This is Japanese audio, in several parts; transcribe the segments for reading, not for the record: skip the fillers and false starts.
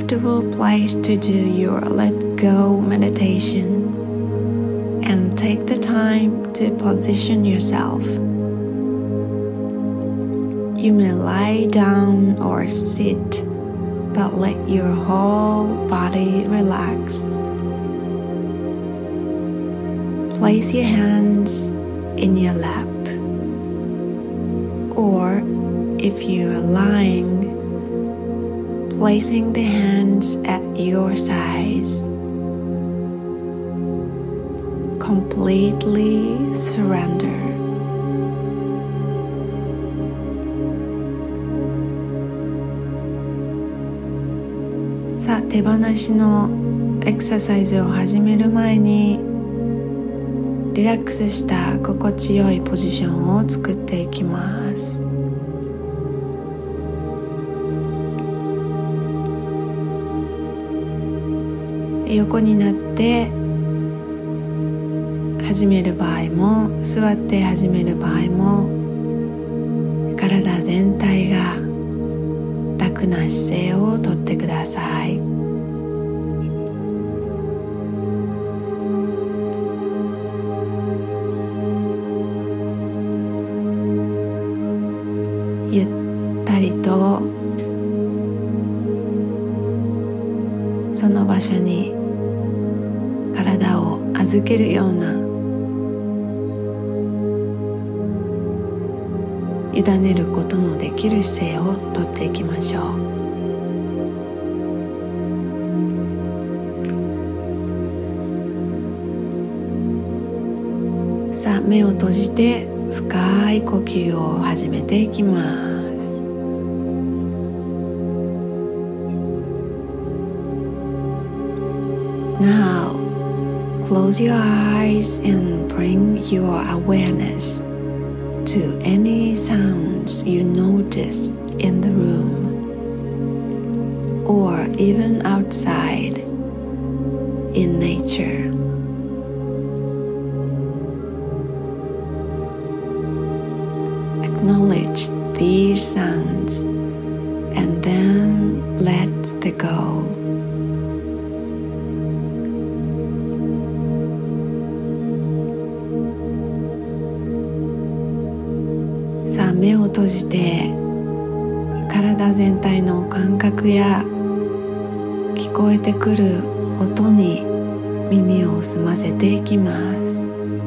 comfortable place to do your let go meditation and take the time to position yourself. You may lie down or sit, but let your whole body relax. Place your hands in your lap, or if you are lying, placing the hands at your sides. Completely surrender. さあ、手放しのエクササイズを始める前にリラックスした心地よいポジションを作っていきます。横になって始める場合も、座って始める場合も、体全体が楽な姿勢をとってください。ゆったりとその場所に体を預けるような、委ねることのできる姿勢をとっていきましょう。さあ、目を閉じて深い呼吸を始めていきます。Now, close your eyes and bring your awareness to any sounds you notice in the room or even outside in nature. Acknowledge these sounds and then let them go.さあ、目を閉じて体全体の感覚や聞こえてくる音に耳を澄ませていきます。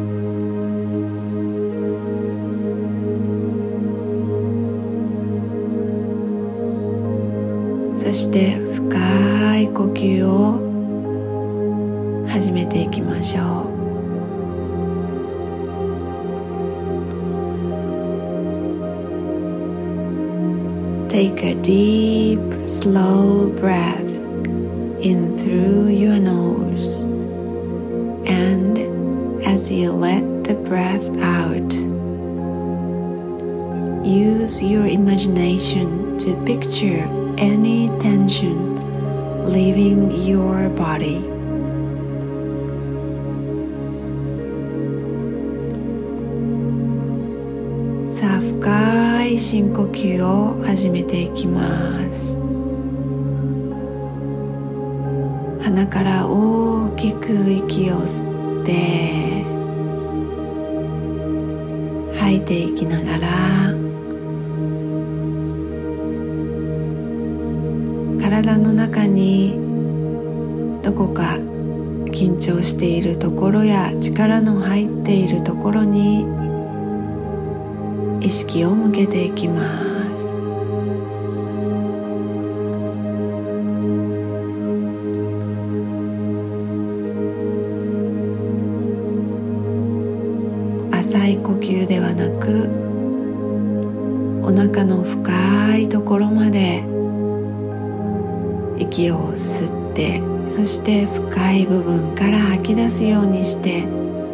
そして深い呼吸を始めていきましょう。Take a deep, slow breath in through your nose, and as you let the breath out, use your imagination to picture any tension leaving your body. Sa深い深呼吸を始めていきます。鼻から大きく息を吸って吐いていきながら、体の中にどこか緊張しているところや力の入っているところに意識を向けていきます。浅い呼吸ではなく、お腹の深いところまで息を吸って、そして深い部分から吐き出すようにして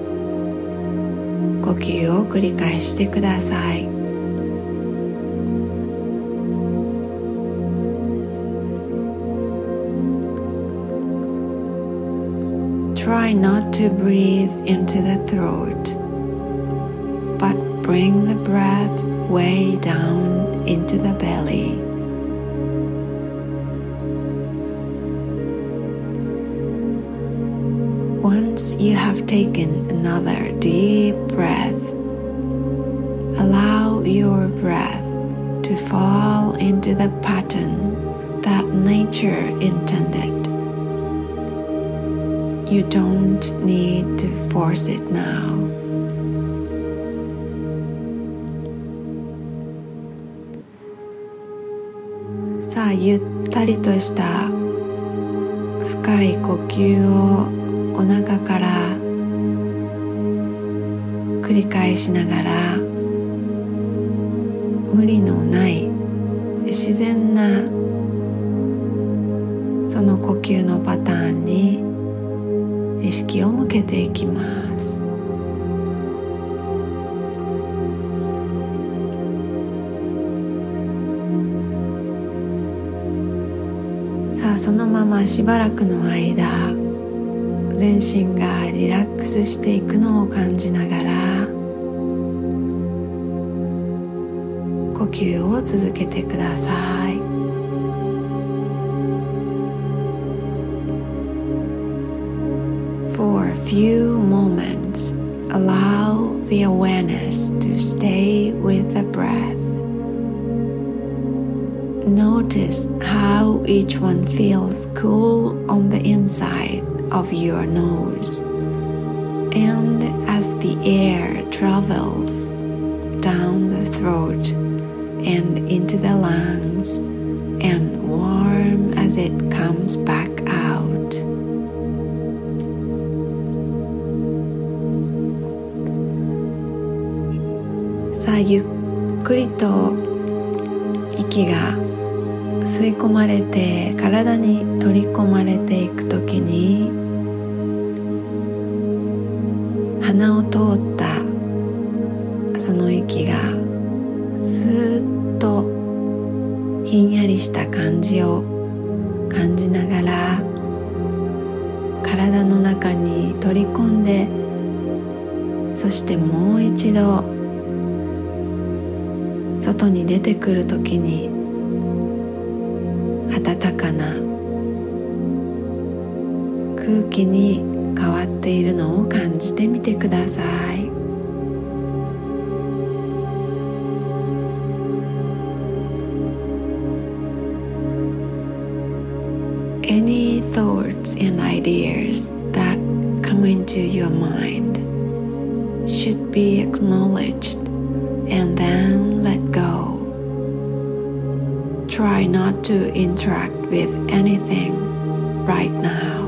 呼吸を繰り返してください。Try not to breathe into the throat, but bring the breath way down into the belly. Once you have taken another deep breath, allow your breath to fall into the pattern that nature intended. You don't need to force it now. さあ、ゆったりとした深い呼吸をお腹から繰り返しながら、無理のない自然なその呼吸のパターンに意識を向けていきます。さあ、そのまましばらくの間、全身がリラックスしていくのを感じながら呼吸を続けてください。For a few moments, allow the awareness to stay with the breath. Notice how each one feels cool on the inside of your nose, and as the air travels down the throat and into the lungs, and warm as it comes back out. さあ、ゆっくりと息が吸い込まれて体に取り込まれていくときに、鼻を通ったその息がスーッとひんやりした感じを感じながら体の中に取り込んで、そしてもう一度外に出てくるときに暖かな空気に変わっているのを感じてみてください。Any thoughts and ideas that come into your mind should be acknowledged and then let go. Try not to interact with anything right now.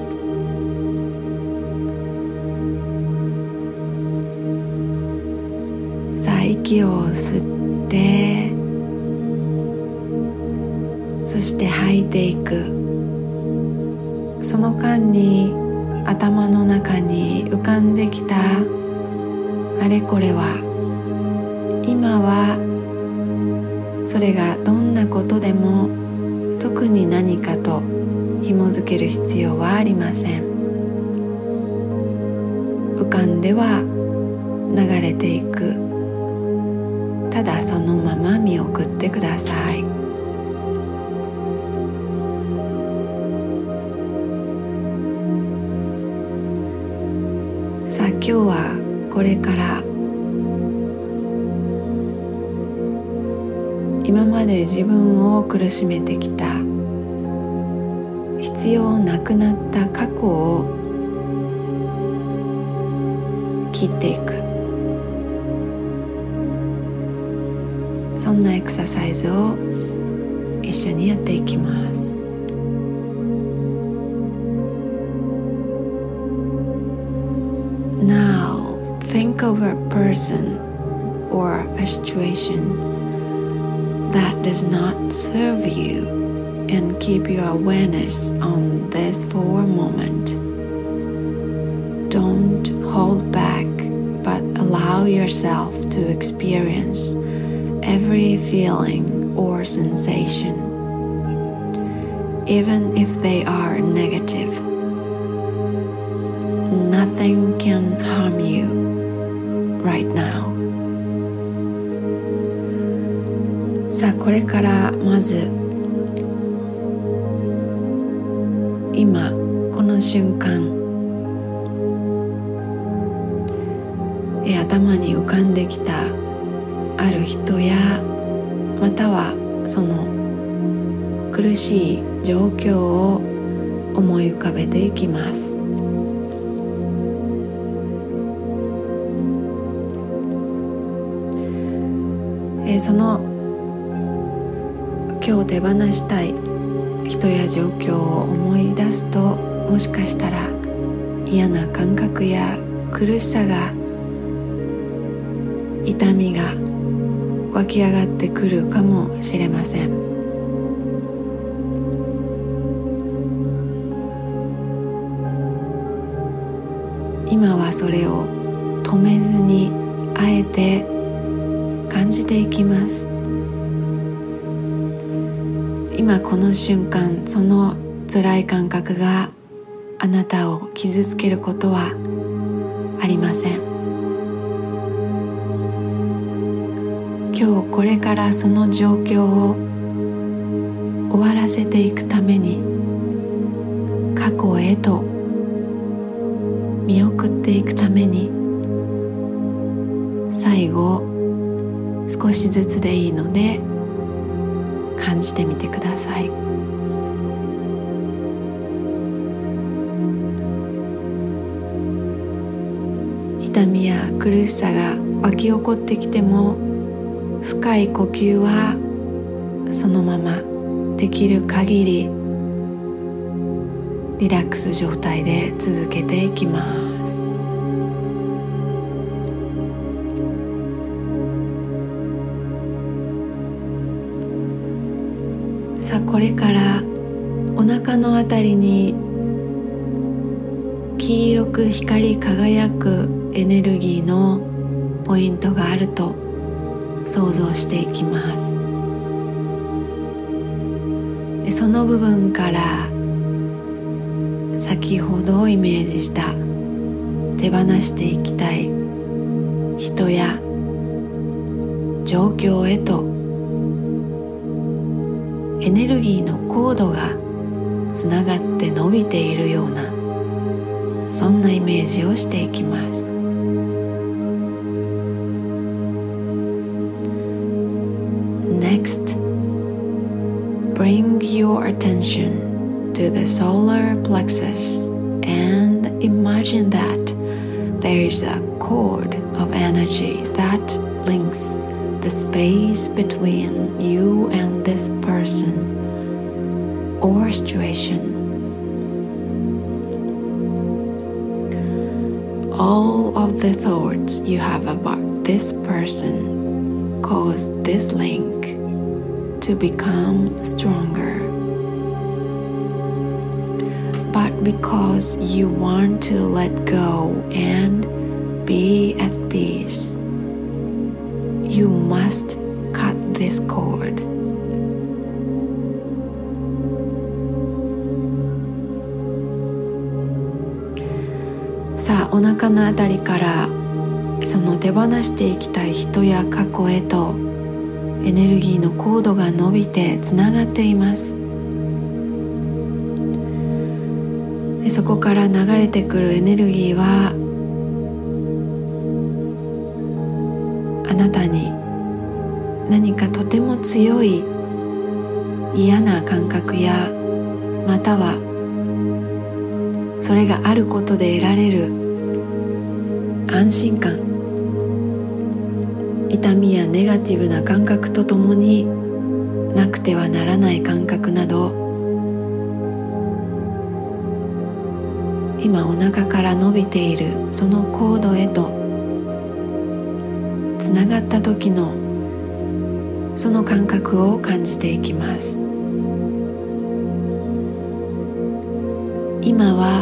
さあ、息を吸って、そして吐いていく。その間に頭の中に浮かんできたあれこれは、今はそれがどんなことでも特に何かと紐づける必要はありません。浮かんでは流れていく。ただそのまま見送ってください。さあ、今日はこれから今まで自分を苦しめてきた必要なくなった過去を切っていく、そんなエクササイズを一緒にやっていきます。Now think of a person or a situation that does not serve you and keep your awareness on this for a moment. Don't hold back, but allow yourself to experience every feeling or sensation, even if they are negative. Nothing can harm you right now. さあ、これからまず今この瞬間頭に浮かんできたある人やまたはその苦しい状況を思い浮かべていきます。その今日手放したい人や状況を思い出すと、もしかしたら嫌な感覚や苦しさが、痛みが湧き上がってくるかもしれません。今はそれを止めずにあえて感じていきます。今この瞬間、その辛い感覚があなたを傷つけることはありません。今日これからその状況を終わらせていくために、過去へと見送っていくために、最後少しずつでいいので感じてみてください。痛みや苦しさが湧き起こってきても、深い呼吸はそのままできる限りリラックス状態で続けていきます。さあ、これからお腹のあたりに黄色く光り輝くエネルギーのポイントがあると想像していきます。でその部分から先ほどイメージした手放していきたい人や状況へとエネルギーのコードがつながって伸びているような、そんなイメージをしていきます。Next, bring your attention to the solar plexus and imagine that there is a cord of energy that links the space between you and this person or situation. All of the thoughts you have about this person cause this link to become stronger. But because you want to let go and be at peace, you must cut this cord.さあ、お腹のあたりからその手放していきたい人や過去へとエネルギーのコードが伸びてつながっています。でそこから流れてくるエネルギーはあなたに何かとても強い嫌な感覚や、またはそれがあることで得られる安心感、痛みやネガティブな感覚とともになくてはならない感覚など、今お腹から伸びているそのコードへとつながった時のその感覚を感じていきます。今は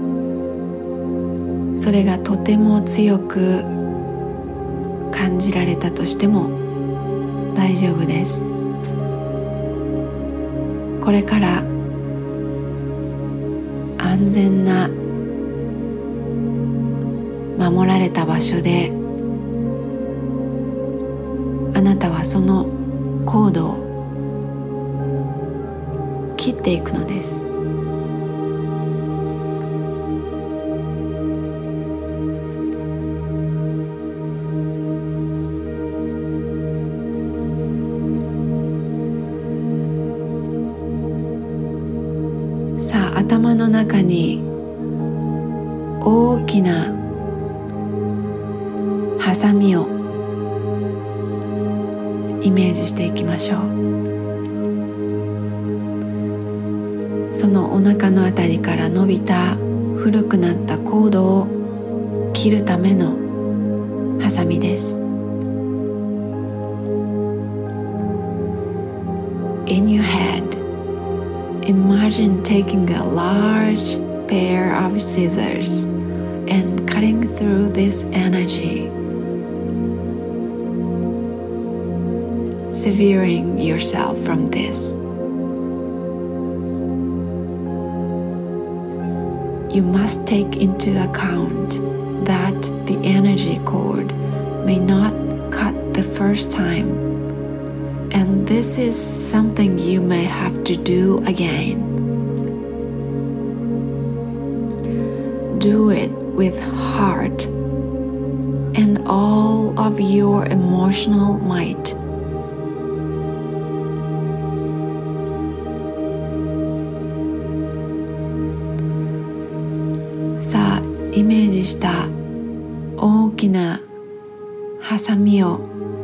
それがとても強く感じられたとしても大丈夫です。これから安全な守られた場所であなたはそのコードを切っていくのです。 中に大きなハサミをイメージしていきましょう。そのお腹のあたりから伸びた古くなったコードを切るためのハサミです。In your head, imagine taking a large pair of scissors and cutting through this energy, severing yourself from this. You must take into account that the energy cord may not cut the first time, and this is something you may have to do again. Do it with heart and all of your emotional might.さあ、イメージした大きなハサミを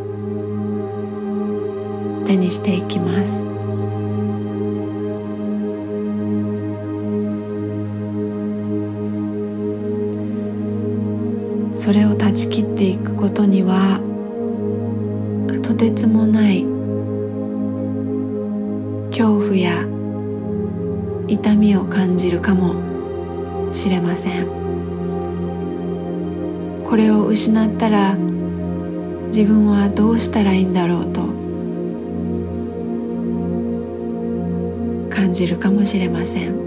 手にしていきます。それを断ち切っていくことにはとてつもない恐怖や痛みを感じるかもしれません。これを失ったら自分はどうしたらいいんだろうと感じるかもしれません。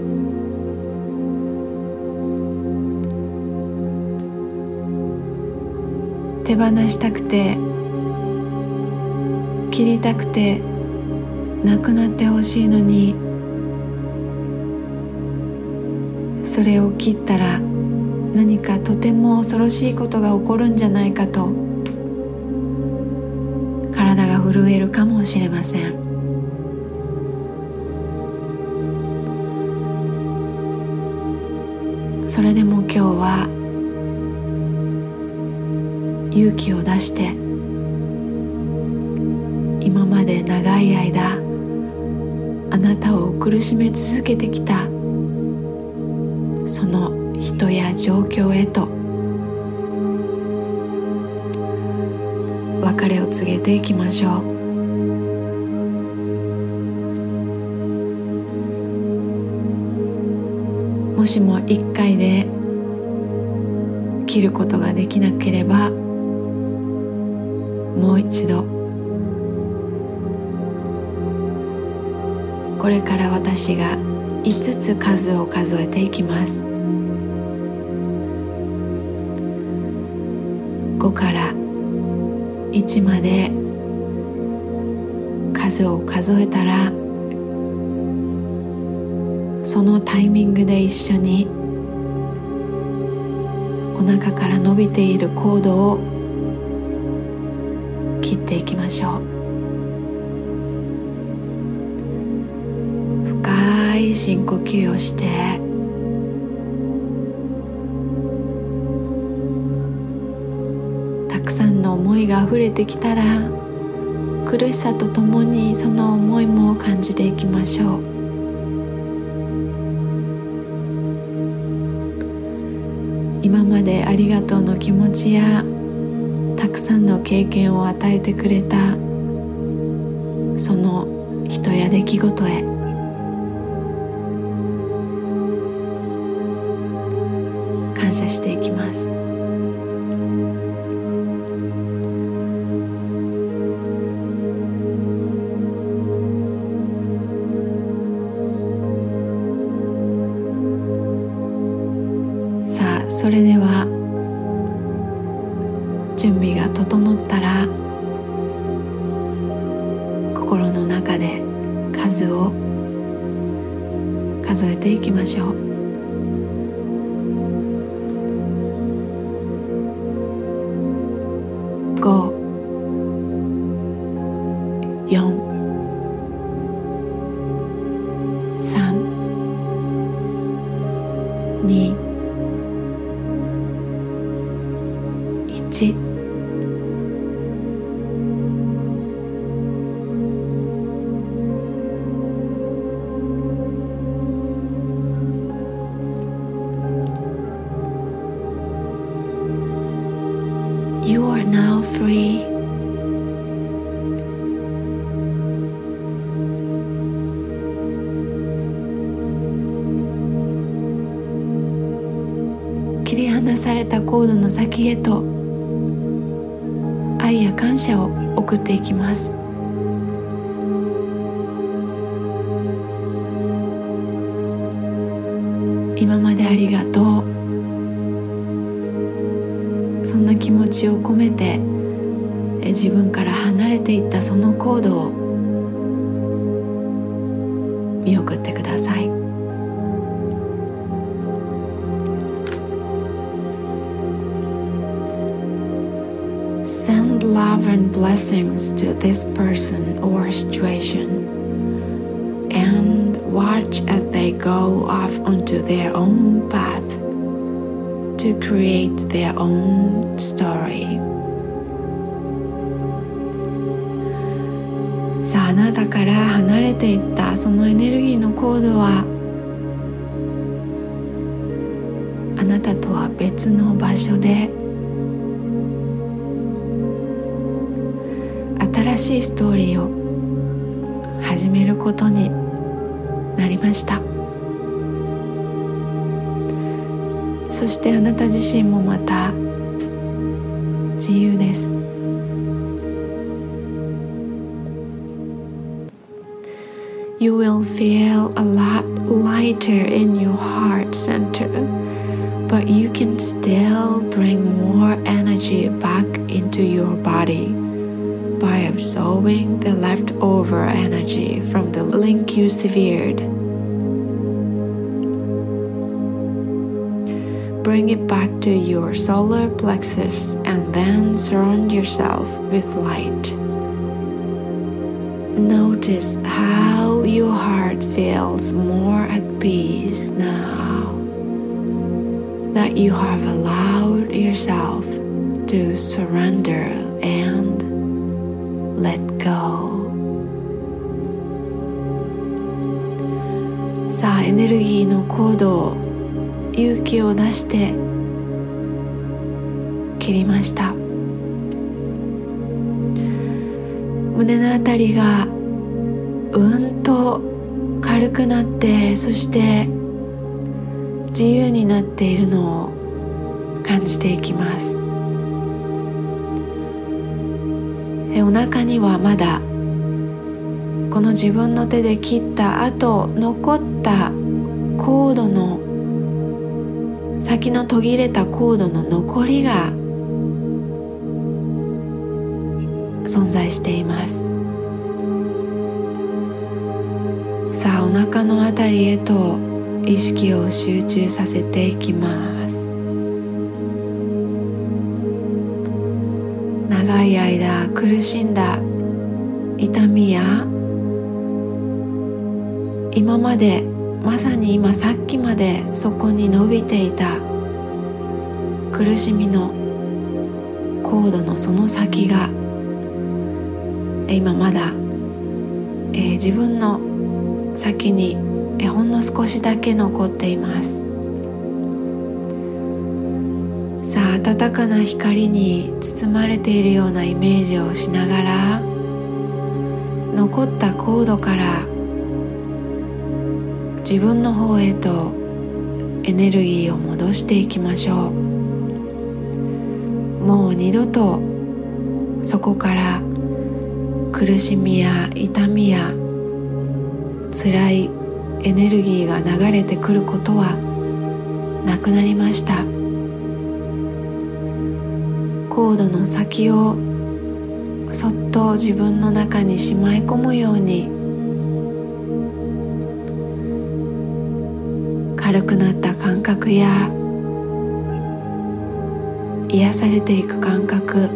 手放したくて切りたくてなくなってほしいのに、それを切ったら何かとても恐ろしいことが起こるんじゃないかと体が震えるかもしれません。それでも今日は勇気を出して今まで長い間あなたを苦しめ続けてきたその人や状況へと別れを告げていきましょう。もしも一回で切ることができなければもう一度、これから私が5つ数を数えていきます。5から1まで数を数えたら、そのタイミングで一緒にお腹から伸びているコードを切っていきましょう。深い深呼吸をして、たくさんの思いがあふれてきたら、苦しさとともにその思いも感じていきましょう。今までありがとうの気持ちやたくさんの経験を与えてくれたその人や出来事へ感謝していきます。さあ、それでは準備が整ったら、心の中で数を数えていきましょう。5、4、3、2、 1。You are now free.切り離されたコードの先へと愛や感謝を送っていきます。今までありがとう。そんな気持ちを込めて自分から離れていったそのコードを見送ってください。Send love and blessings to this person or situation and watch as they go off onto their own path to create their own story. さあ、あなたから離れていったそのエネルギーのコードはあなたとは別の場所で新しいストーリーを始めることになりました。そしてあなた自身もまた自由です。You will feel a lot lighter in your heart center, but you can still bring more energy back into your body by absorbing the leftover energy from the link you severed.Bring it back to your solar plexus and then surround yourself with light. Notice how your heart feels more at peace now that you have allowed yourself to surrender and let go. さあ、エネルギーのコードを勇気を出して切りました。胸のあたりがうんと軽くなって、そして自由になっているのを感じていきます。お腹にはまだこの自分の手で切った後残ったコードの先の途切れたコードの残りが存在しています。さあ、お腹のあたりへと意識を集中させていきます。長い間苦しんだ痛みや今までまさに今さっきまでそこに伸びていた苦しみのコードのその先が今まだ、自分の先にほんの少しだけ残っています。さあ、暖かな光に包まれているようなイメージをしながら残ったコードから自分の方へとエネルギーを戻していきましょう。もう二度とそこから苦しみや痛みや辛いエネルギーが流れてくることはなくなりました。コードの先をそっと自分の中にしまい込むように軽くなった感覚や癒されていく感覚、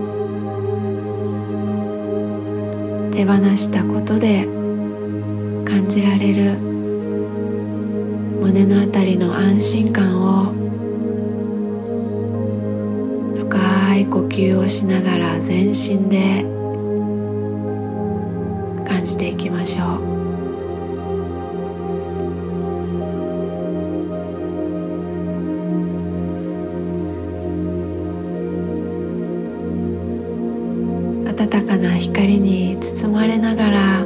手放したことで感じられる胸のあたりの安心感を深いい呼吸をしながら全身で感じていきましょう。暖かな光に包まれながら、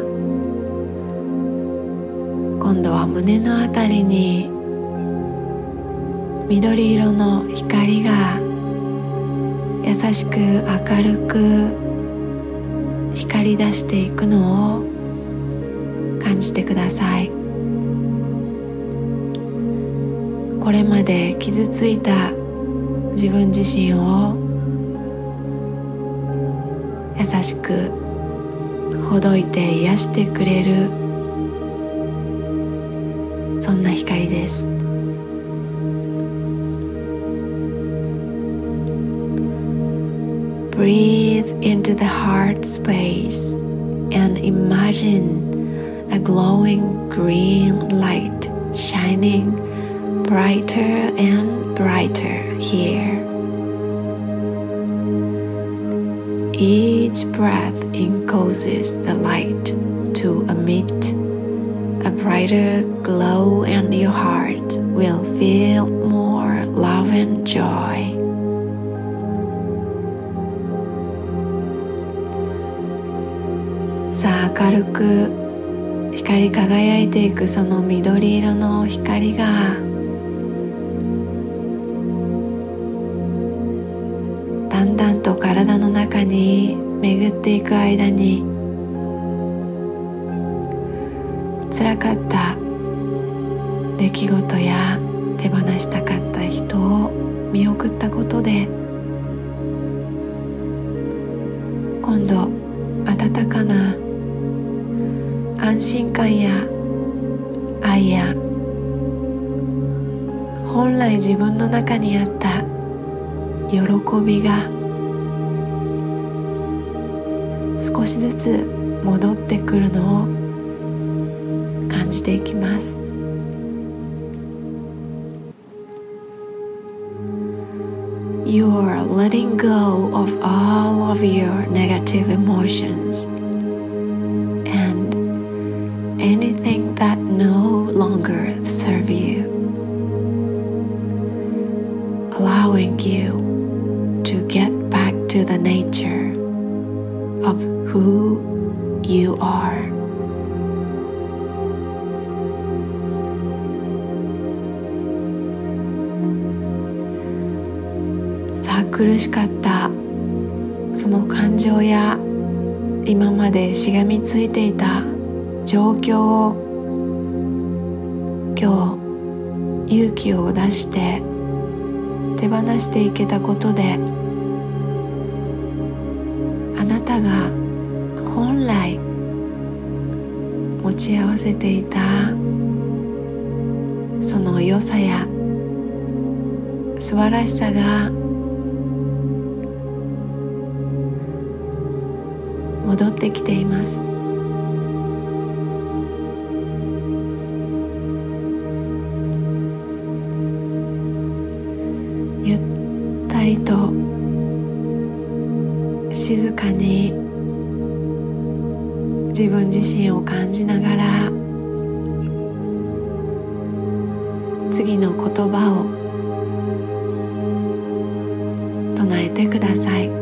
今度は胸のあたりに緑色の光が優しく明るく光り出していくのを感じてください。これまで傷ついた自分自身を優しくほどいて癒してくれる、そんな光です。Breathe into the heart space and imagine a glowing green light shining brighter and brighter here. Each breath encloses the light to emit a brighter glow, and your heart will feel more love and joy. さあ、明るく光り輝いていくその緑色の光がだんだんと体の中に巡っていく間に、辛かった出来事や手放したかった人を見送ったことで、今度温かな安心感や愛や本来自分の中にあった喜びが少しずつ戻ってくるのを感じていきます。You are letting go of all of your negative emotions and anything that no longer serve you, allowing you to get back to the nature of who you are. さあ、苦しかったその感情や今までしがみついていた状況を今日勇気を出して手放していけたことで、あなたが本来持ち合わせていたその良さや素晴らしさが戻ってきています。ゆったりと静かに自分自身を感じながら次の言葉を唱えてください。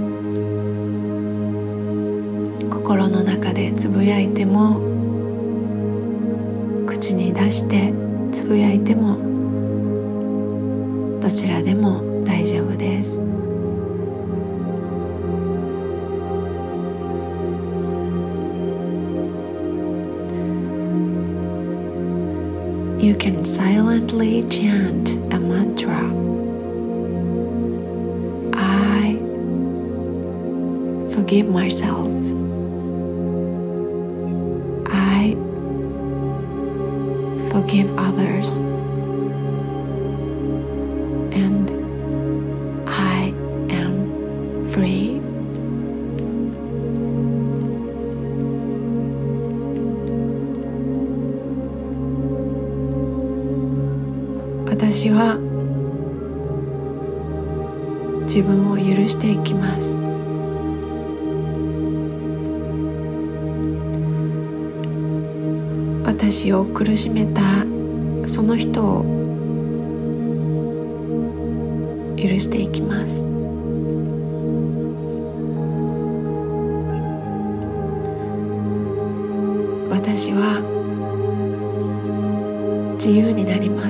心の中でつぶやいても、口に出してつぶやいても、どちらでも大丈夫です。You can silently chant a mantra. I forgive myself. I forgive others. And I am free. 私は自分を許していきます。私を苦しめたその人を許していきます。私は自由になります。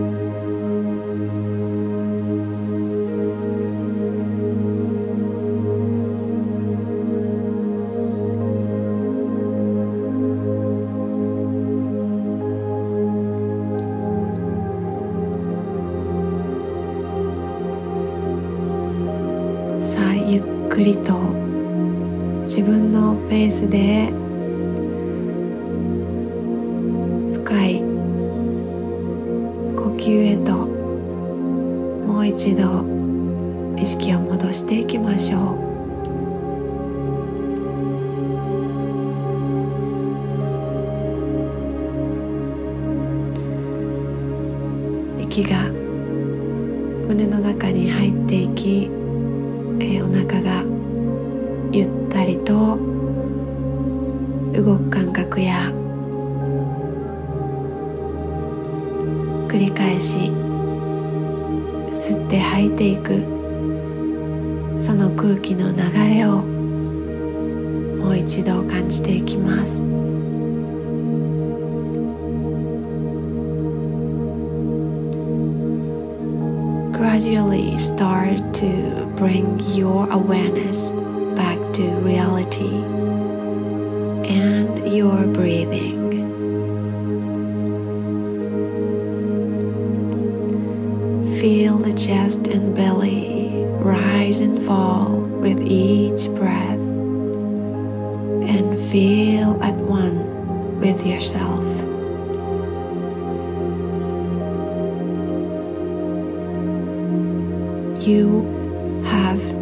さあ、ゆっくりと自分のペースで深い呼吸へともう一度意識を戻していきましょう。息が胸の中に入っていき、お腹がゆったりと動く感覚や繰り返し吸って吐いていくその空気の流れをもう一度感じていきます。Gradually start to bring your awareness back to reality and your breathing. Feel the chest and belly rise and fall with each breath, and feel at one with yourself. You have